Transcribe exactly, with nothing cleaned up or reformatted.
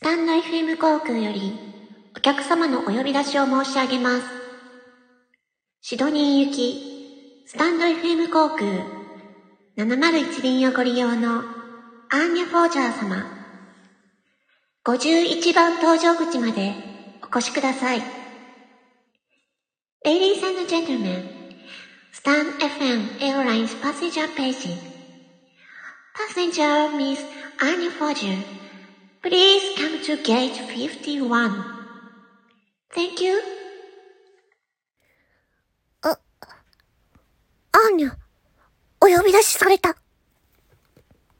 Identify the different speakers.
Speaker 1: タンド エフエム 航空よりお客様のお呼び出しを申し上げます。シドニー行きスタンド エフエム 航空ななまるいち便をご利用のアーニャ・フォージャー様、ごじゅういちばん搭乗口までお越しください。Ladies and gentlemen, Stan エフエム Airlines passenger paging. Passenger Miss Anya Forger, please come to gate fifty-one. Thank you.
Speaker 2: あ、アーニャ、お呼び出しされた。